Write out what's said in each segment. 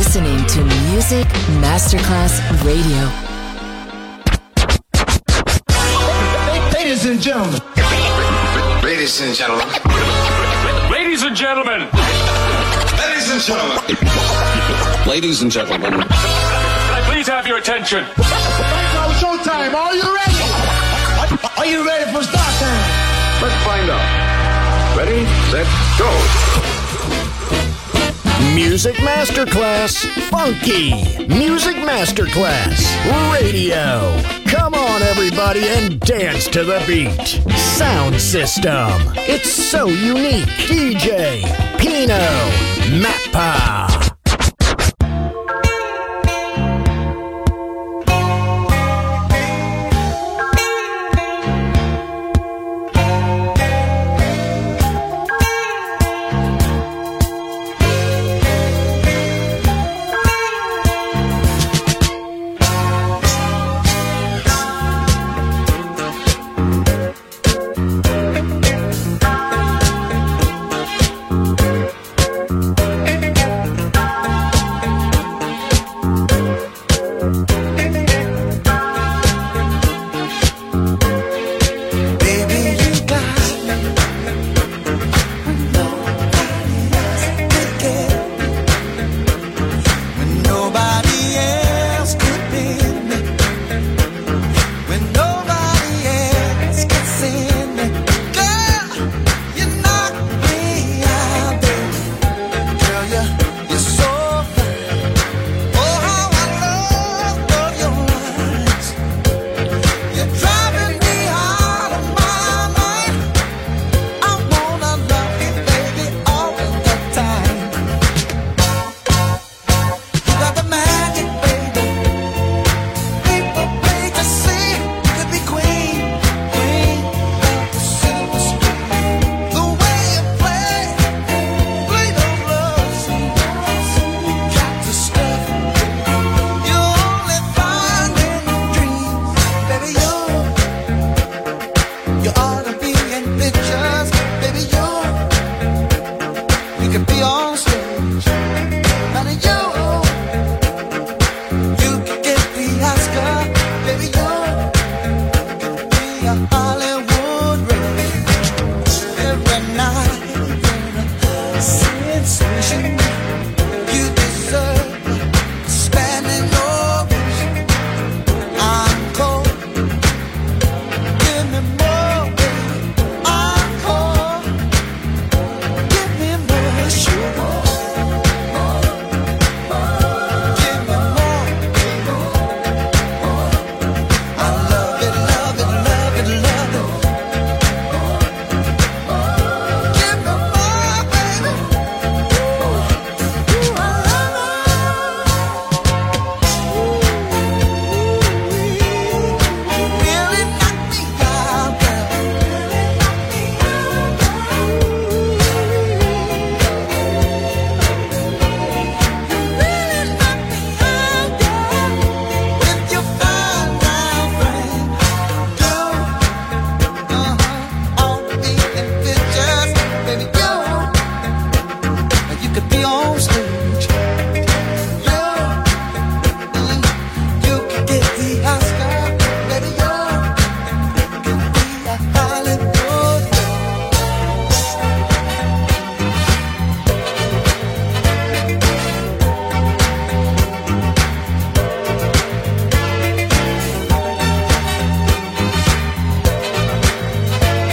listening to Music Masterclass Radio. Ladies and gentlemen. Ladies and gentlemen. Ladies and gentlemen. Ladies and gentlemen. Ladies and gentlemen. Can I please have your attention? Right now, showtime. Are you ready? Are you ready for start time? Let's find out. Ready, set, go. Music Masterclass Funky. Music Masterclass Radio. Come on, everybody, and dance to the beat. Sound system. It's so unique. DJ Pino Mappa.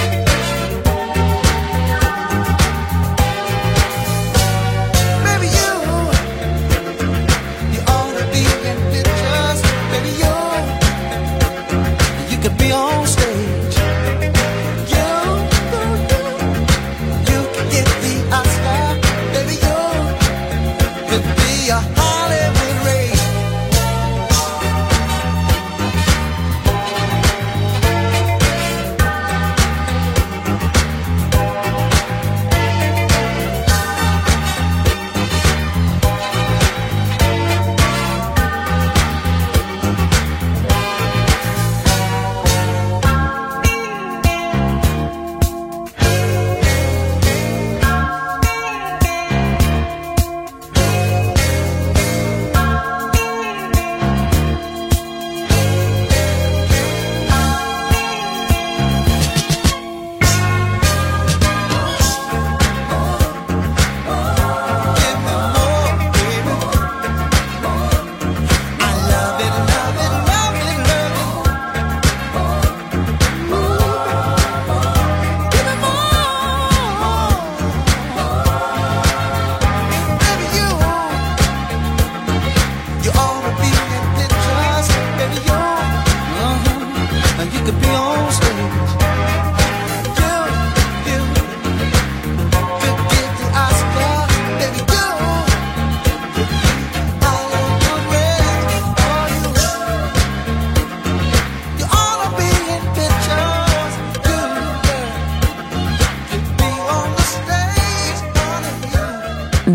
Maybe you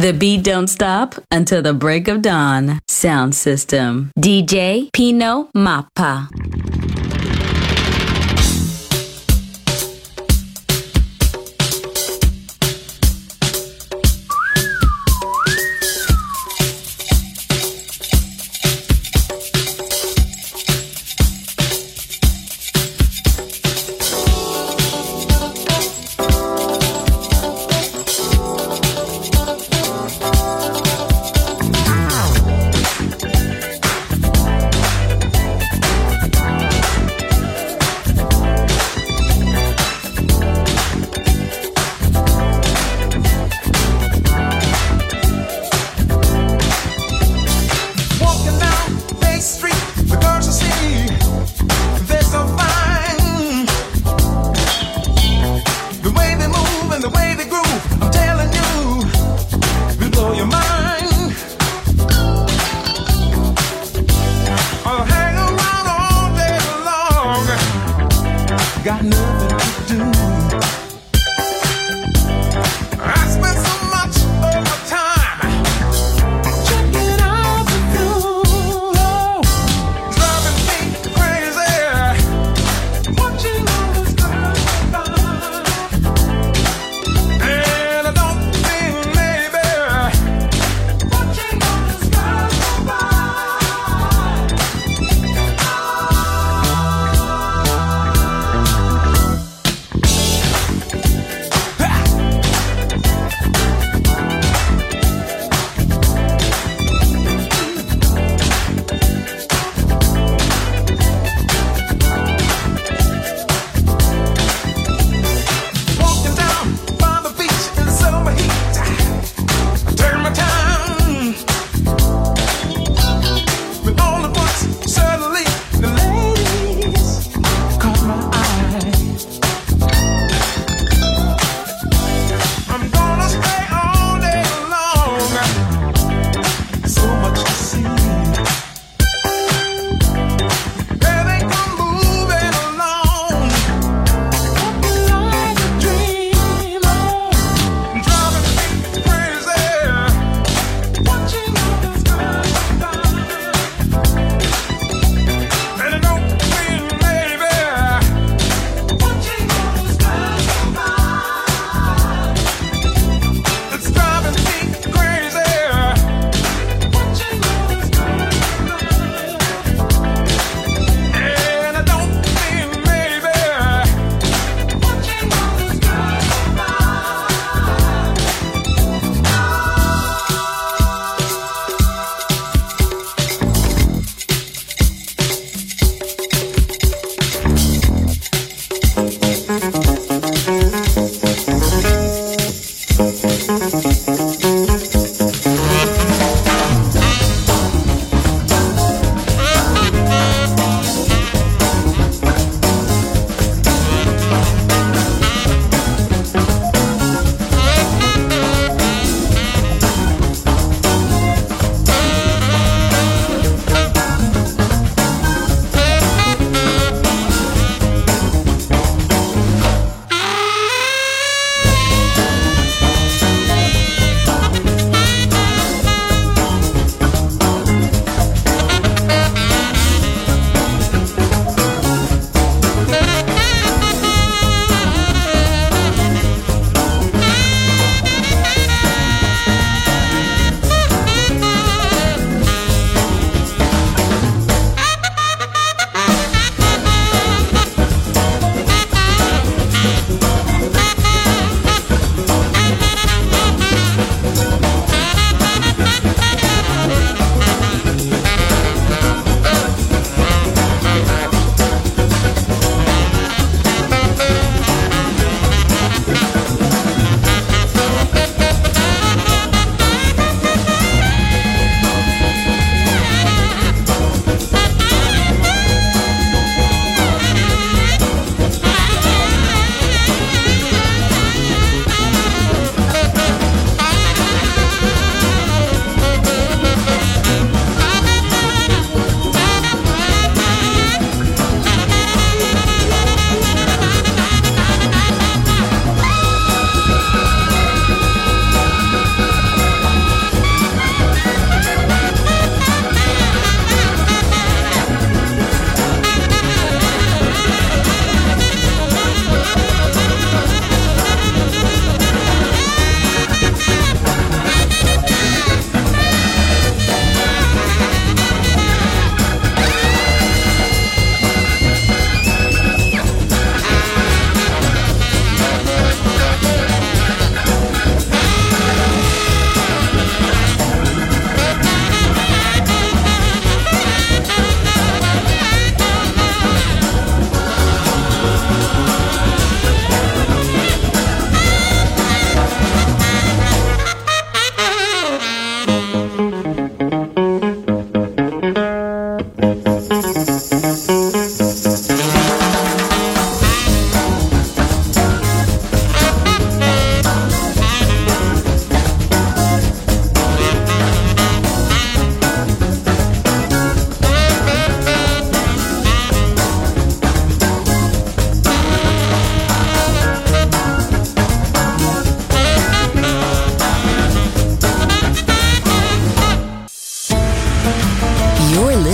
The beat don't stop until the break of dawn. Sound system. DJ Pino Mappa.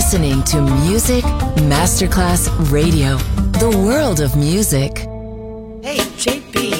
listening to Music Masterclass Radio, the world of music. Hey, JP.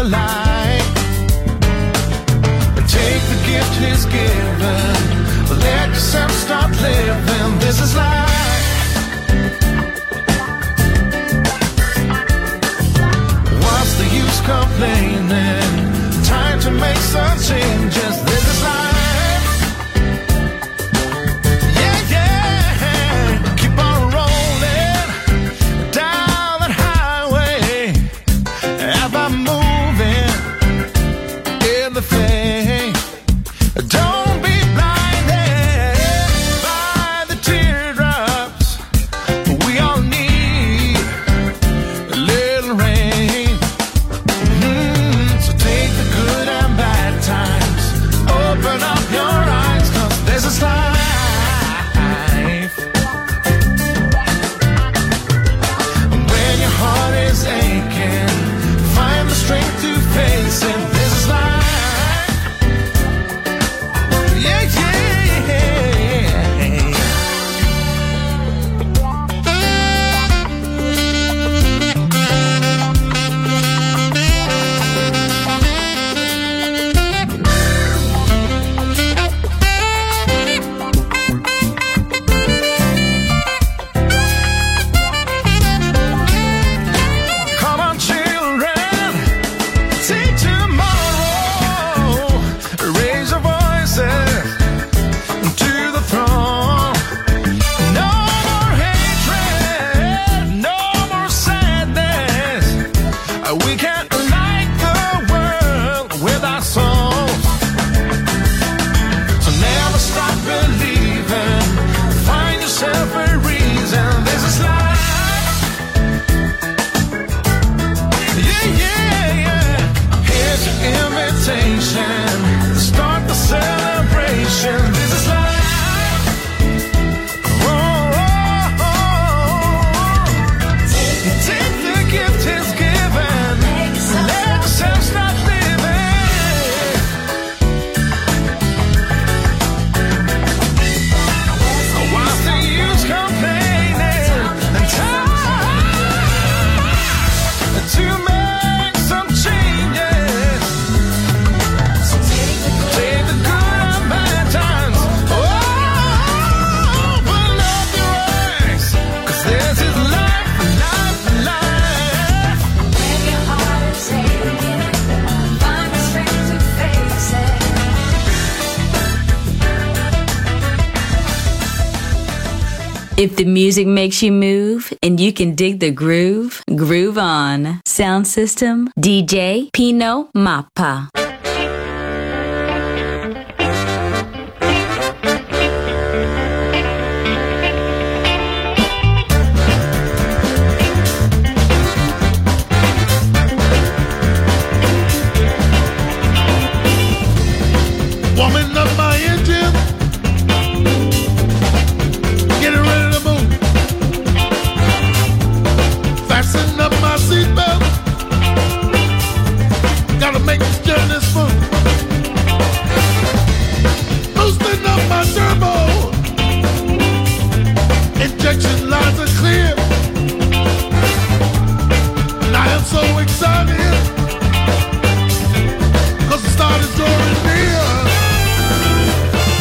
is given. Let yourself start living. This is life. What's the use complaining? Time to make some changes. This is life. Yeah, yeah. Keep on rolling down that highway. Ever moving in the faith. Don't be blinded by the teardrops. We all need a little rain. So take the good and bad times. Open up your eyes, 'cause this is life. When your heart is aching, find the strength to face it. This is life. Come on, children, take tomorrow. Raise your voices to the throne. No more hatred, no more sadness. We can't light the world with our souls. So never stop believing. Find yourself a reason. This is life. Yeah, yeah, yeah. Here's your invitation. Start the celebration. This is life. Oh, oh, oh. Take the gift He's given. Let yourself start living. What's the use complaining? And time to make some changes. Take the good and bad times. Oh, open up your eyes, 'cause this is life, life, life. When your heart is aching, find the strength to face it. If the music makes you move and you can dig the groove, groove on. Sound system, DJ Pino Mappa. Warming up my engine, getting ready to move. Fasten up my seatbelt, gotta make this journey smooth. Boosting up my turbo, injection lines are clear. And I am so excited, 'cause the start is drawing near.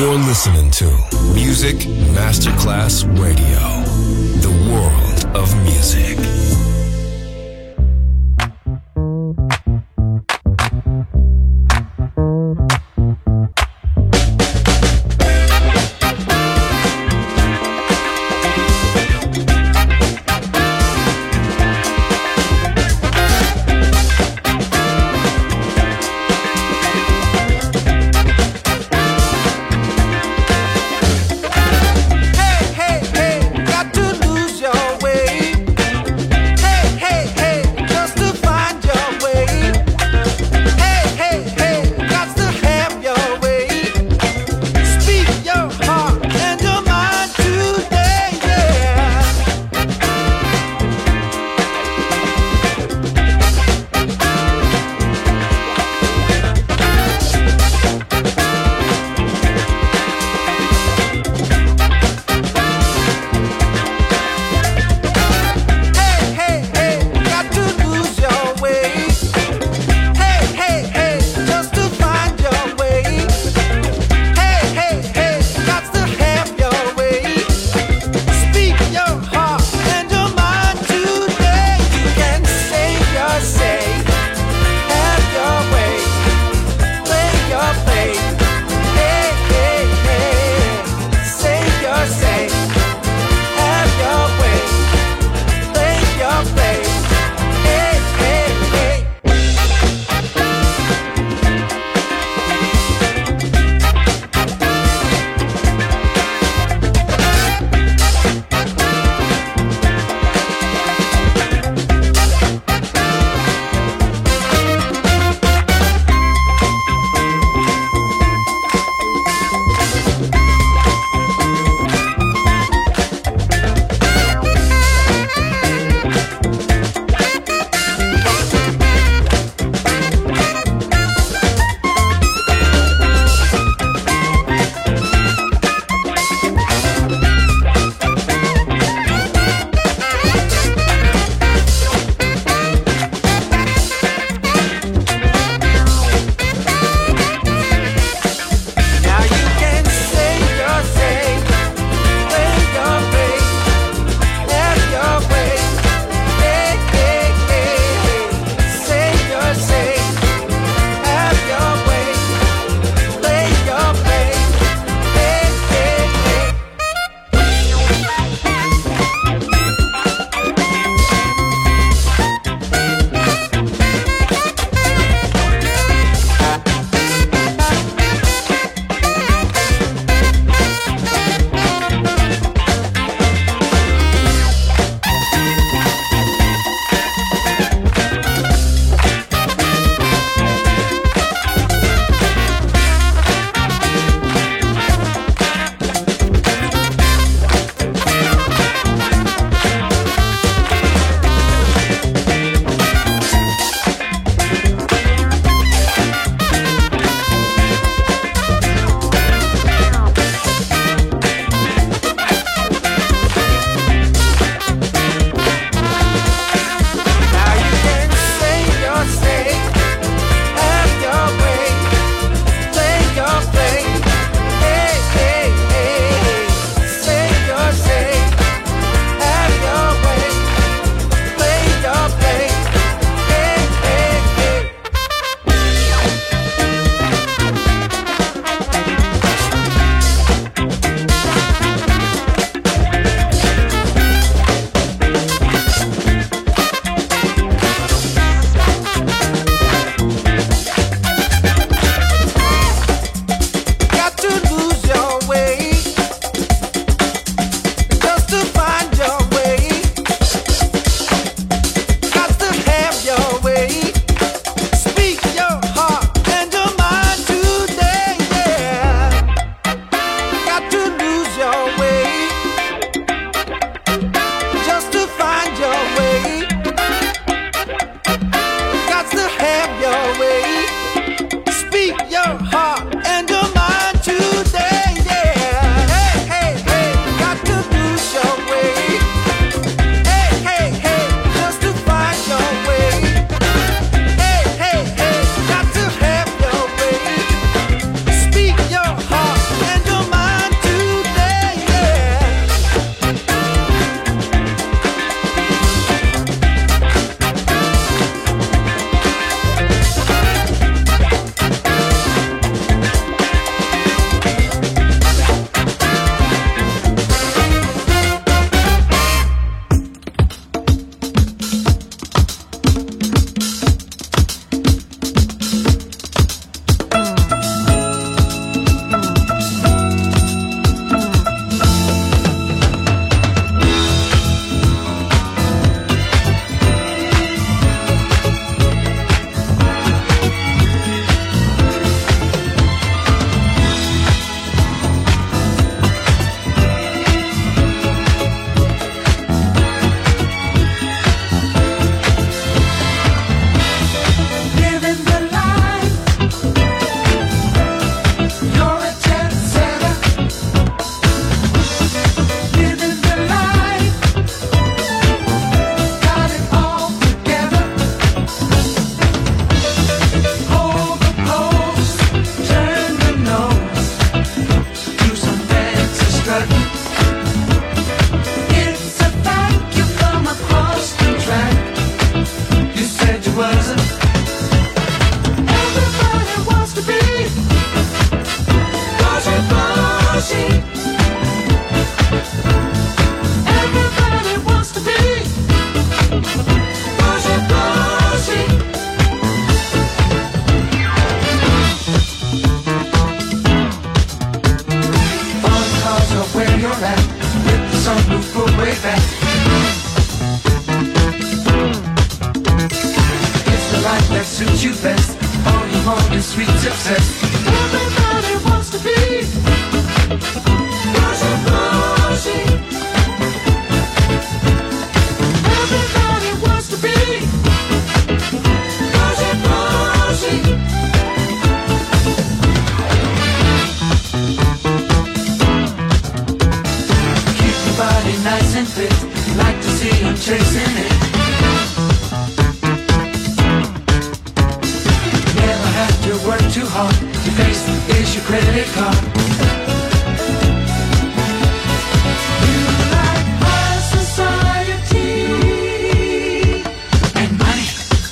You're listening to Music Masterclass Radio, the world of music. Got to lose your way. sweet success. Everybody wants to be Rosie, Rosie. Everybody wants to be Rosie, Rosie. Keep your body nice and fit. Like to see you chasing it. Never have to work too hard. Your face is your credit card. You like high society and money.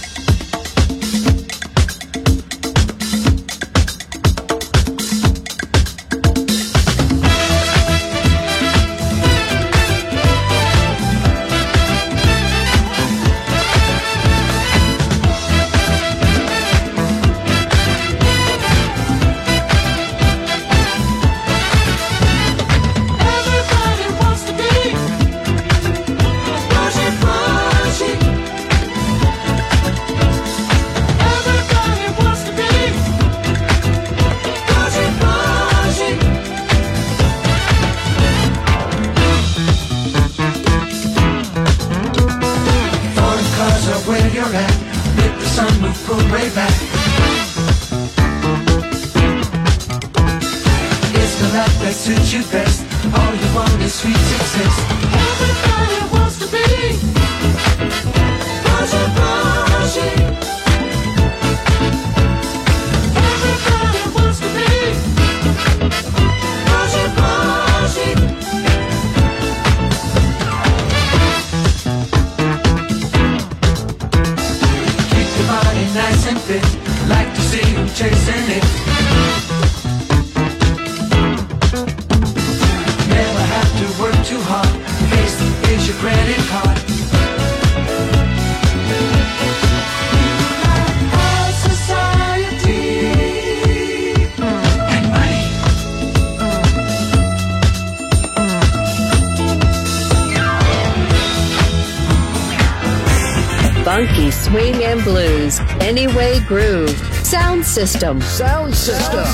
Funky swing and blues, Anyway Groove, Sound System. Sound System.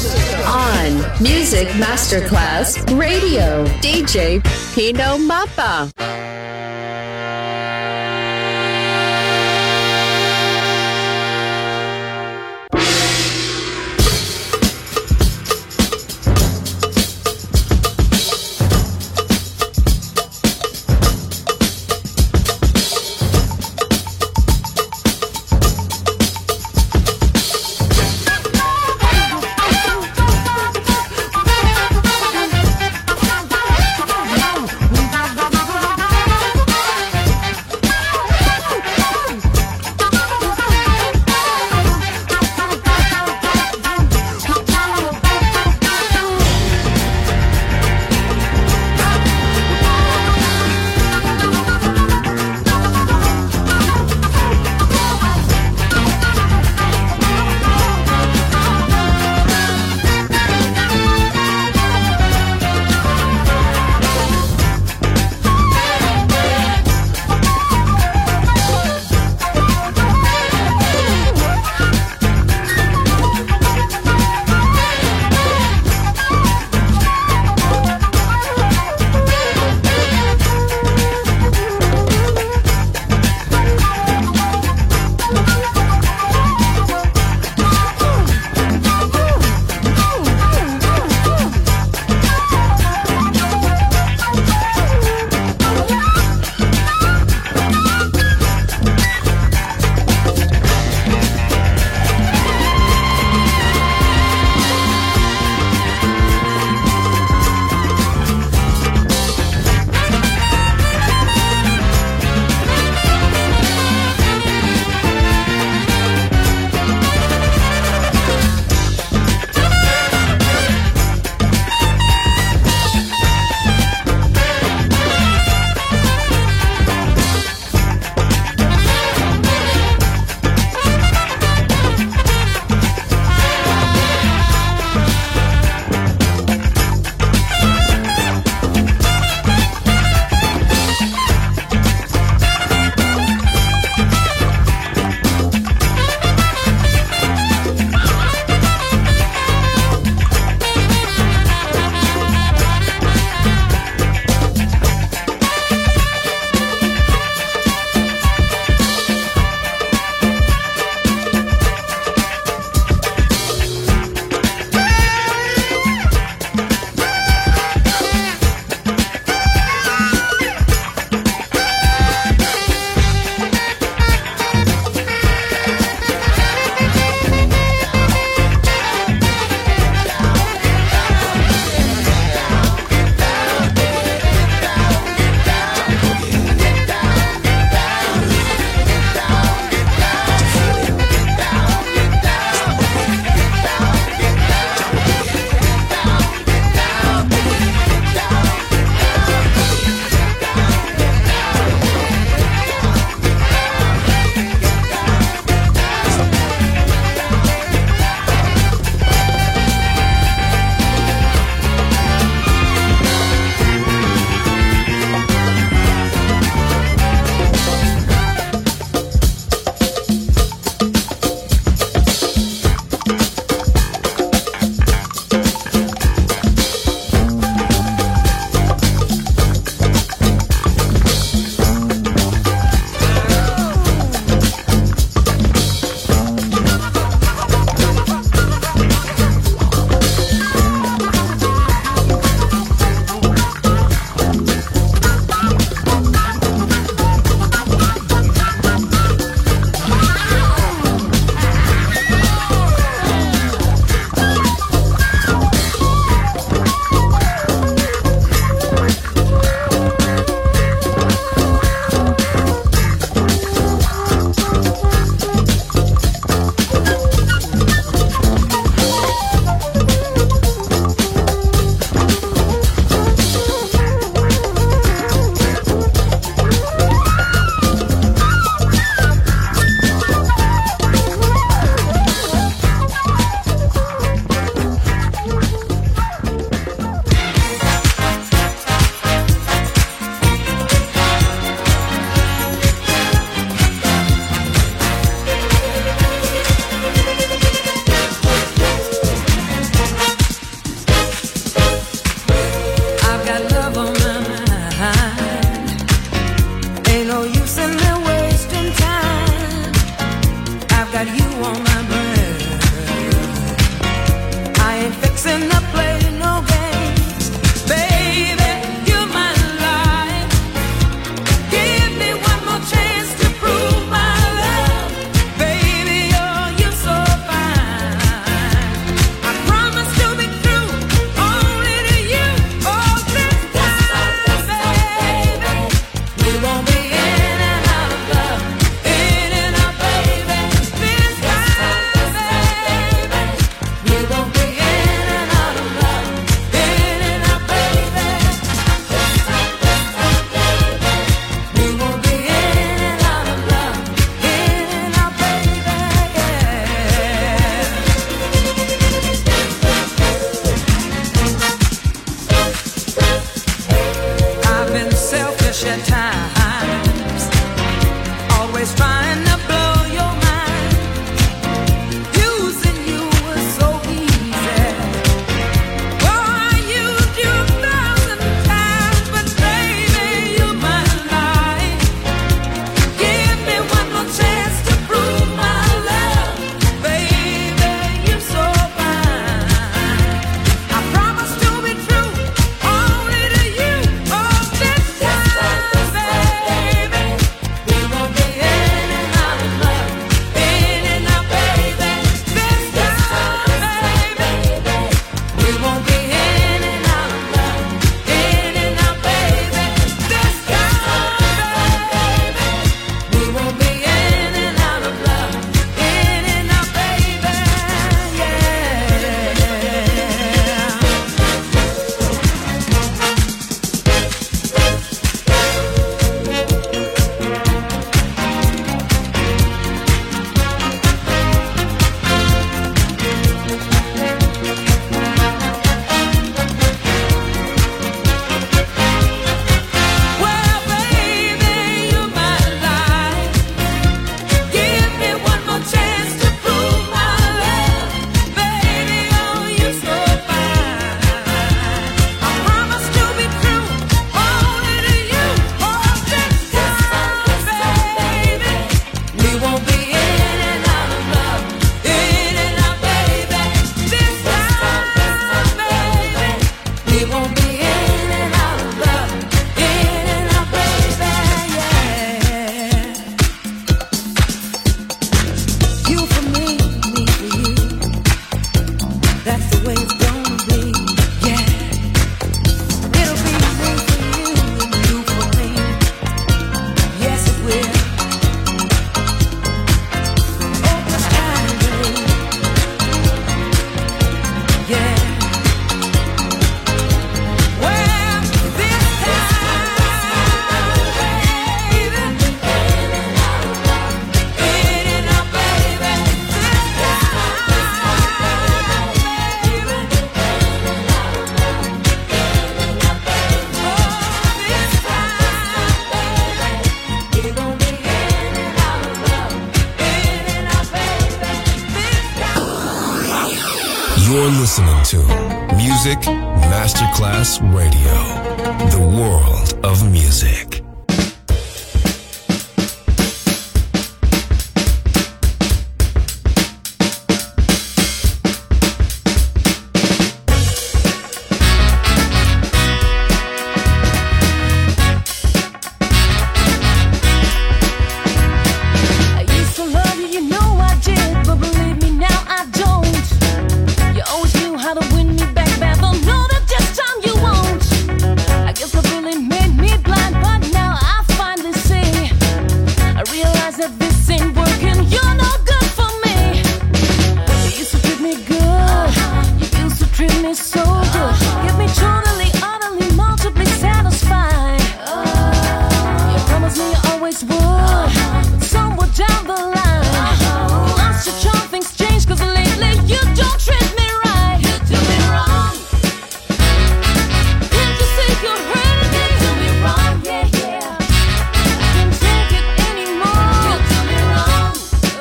On Music Masterclass Radio, DJ Pino Mappa. We'll be right back. You're listening to Music Masterclass Radio, the world of music.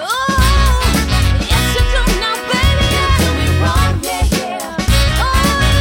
Oh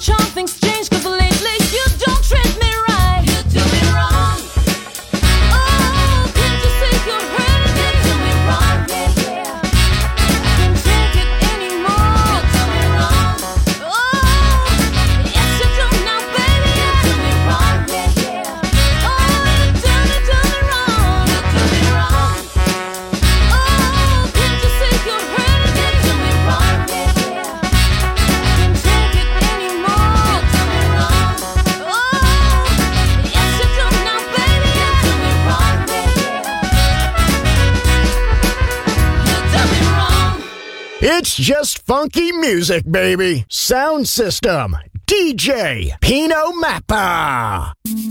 charm, things change, 'cause lately you don't treat me right. You do me wrong. Oh, can't you see you're hurting me? You do me wrong, yeah, yeah. Can't take it anymore. You do me wrong. Oh, yes you do now, baby. You do me wrong, yeah, yeah. Oh, you do me wrong. You do me wrong. Oh, can't you see you're hurting me? You do me wrong, yeah, yeah. Can't take it anymore. You do me wrong. Oh, yes you do now, baby. You do me wrong, yeah, yeah. You do me wrong. It's just funky music, baby. Sound System. DJ Pino Mappa.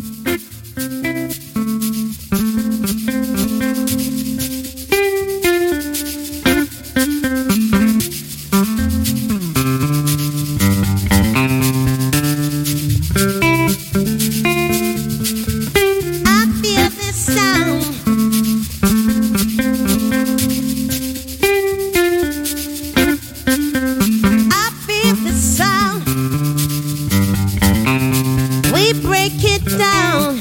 I feel this sound. I feel the sound. We break it down.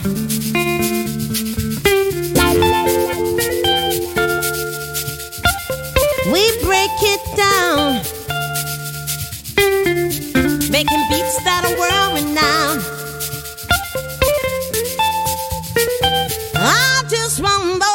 We break it down. Making beats that are world renowned. I just want more.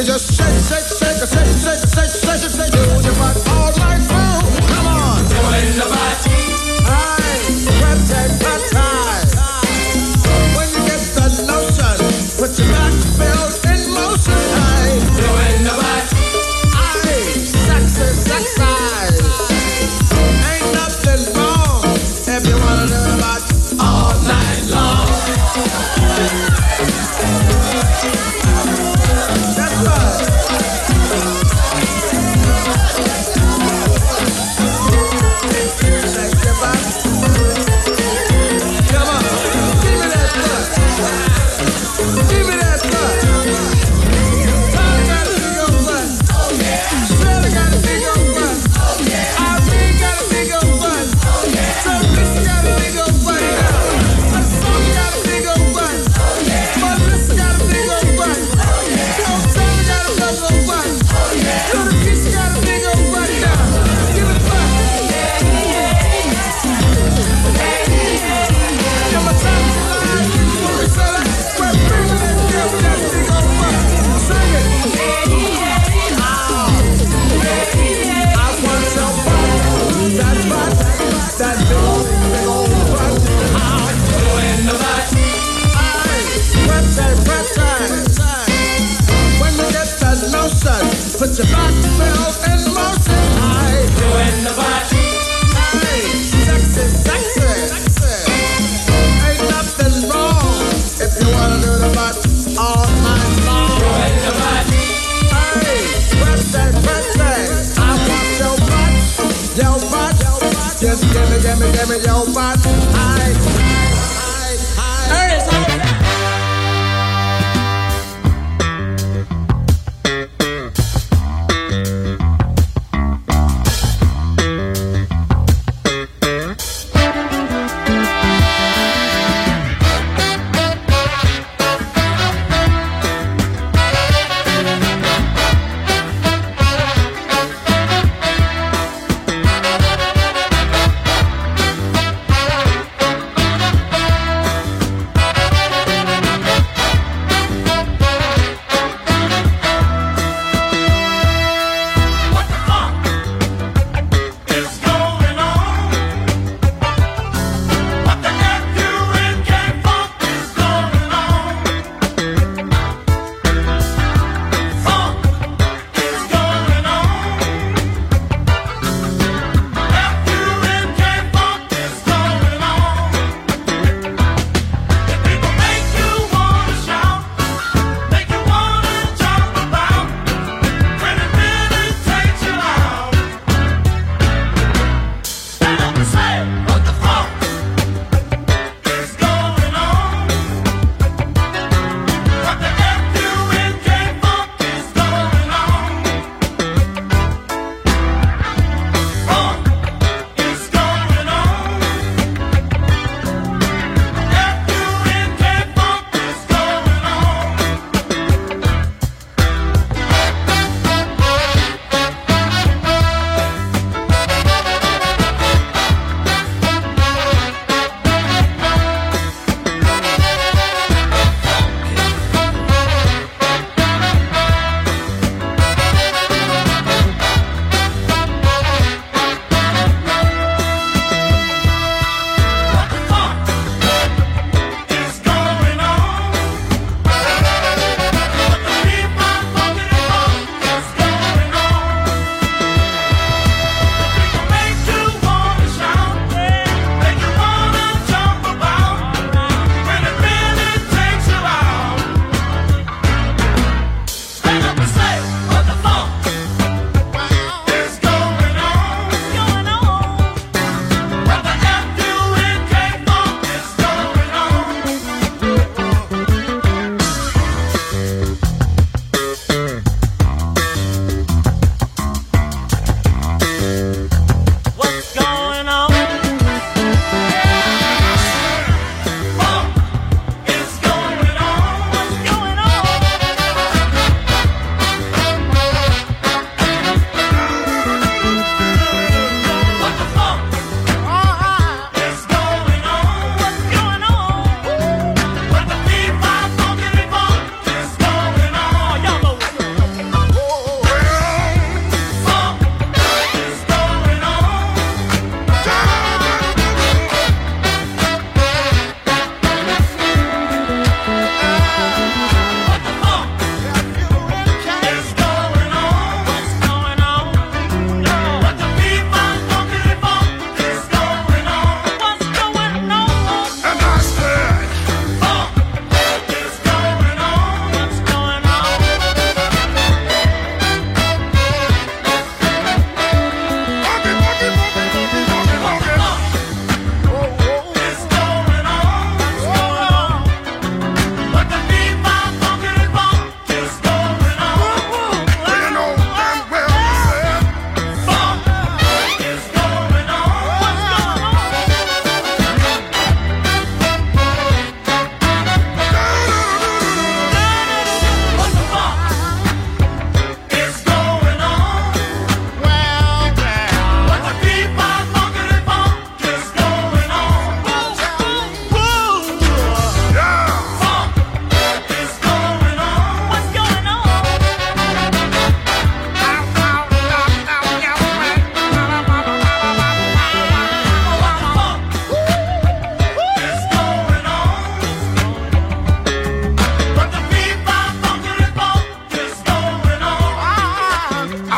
You just shake, shake, shake, shake, shake, shake, shake, shake, shake, do your butt all night through. Come on, doing the butt. Aye, prep time. When you get the notion, put your back belt in motion. Aye, doing the butt. Aye, sexy, sexy. Ain't nothing wrong if you wanna do the butt all night long. That's right. Shake your butt. Come on, give me that butt. Give me that butt. Tommy got a big old butt. Oh yeah. Shirley got a big old butt. Oh yeah. Irene got a big old butt. Oh yeah. Teresa got a big old butt. Sonia got a big old butt. Oh yeah. Melissa got a big old butt. Oh yeah. Joe got a big old butt. Oh yeah. Little Keisha got a big old butt. Give it butt. Give my time to lie. When we say that, we're bringing that girl with that big old butt. Sing it. I want your butt. That's right. That big old butt. Doing the butt. Aye. Prep time. When you get that notion, put your back belt in motion. Aye. Doing the butt. Aye. Sexy, sexy. Ain't nothing wrong if you wanna do the butt all night long. Doing the butt. Aye. Prep time. I want your butt. Your butt. Just give me your butt. Aye. Ernest,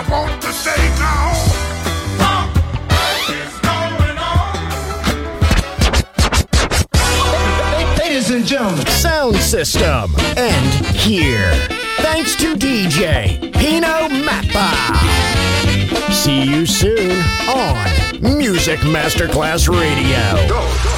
want to say now. Funk is going on. Ladies and gentlemen, Sound System. And here, thanks to DJ Pino Mappa. See you soon on Music Masterclass Radio. Go.